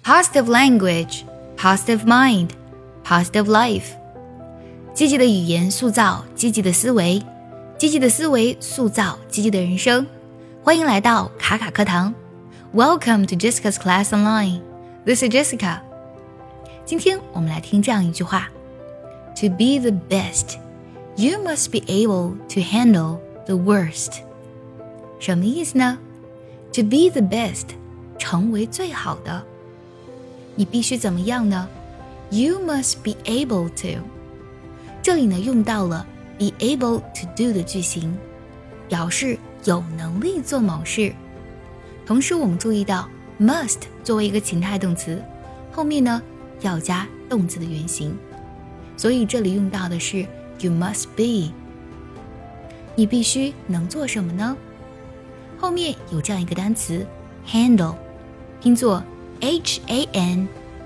positive language, positive mind, positive life。 积极的语言塑造积极的思维，积极的思维塑造积极的人生。欢迎来到卡卡课堂。 Welcome to Jessica's Class Online. This is Jessica. 今天我们来听这样一句话， To be the best, you must be able to handle the worst. 什么意思呢？ To be the best, 成为最好的，你必须怎么样呢？ You must be able to. 这里呢用到了 be able to do 的句型，表示有能力做某事。同时我们注意到 must 作为一个情态动词，后面呢要加动词的原形，所以这里用到的是 you must be。 你必须能做什么呢？后面有这样一个单词 handle， 拼作 handle，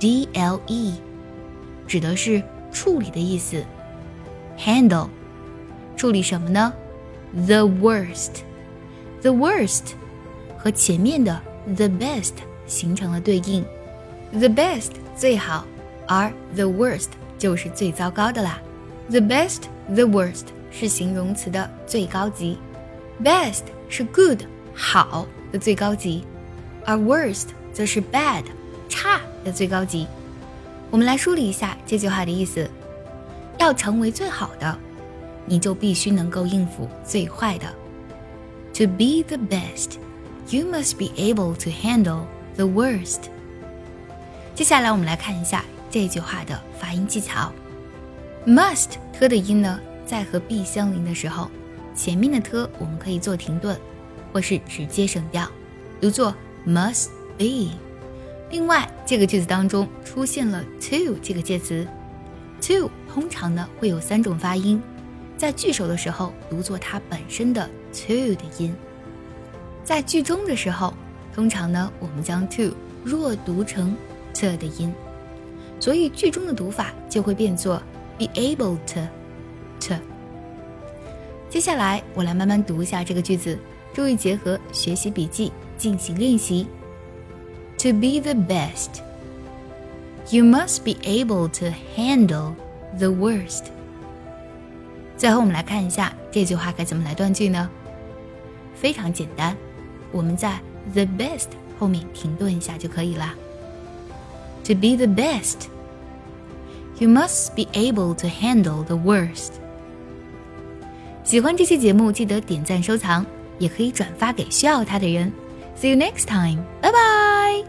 指的是处理的意思。 handle 处理什么呢？ The worst。 The worst 和前面的 the best 形成了对应， The best 最好，而 the worst 就是最糟糕的啦。 The best, the worst 是形容词的最高级， Best 是 good 好的最高级，而 worst 则是 bad 差的最高级。我们来梳理一下这句话的意思，要成为最好的，你就必须能够应付最坏的。 To be the best, you must be able to handle the worst. 接下来我们来看一下这句话的发音技巧。 must 特的音呢，在和 be 相邻的时候，前面的特我们可以做停顿，或是直接省掉，读作 must be。 另外这个句子当中出现了 to 这个介词， to 通常呢会有3种发音，在句首的时候读作它本身的 to 的音，在句中的时候通常呢我们将 to 弱读成 t 的音，所以句中的读法就会变作 be able to t。 接下来我来慢慢读一下这个句子，注意结合学习笔记进行练习。 To be the best, you must be able to handle the worst. 最后我们来看一下这句话该怎么来断句呢？非常简单，我们在 the best 后面停顿一下就可以了。 To be the best, you must be able to handle the worst. 喜欢这期节目记得点赞收藏，也可以转发给需要它的人。See you next time. Bye bye.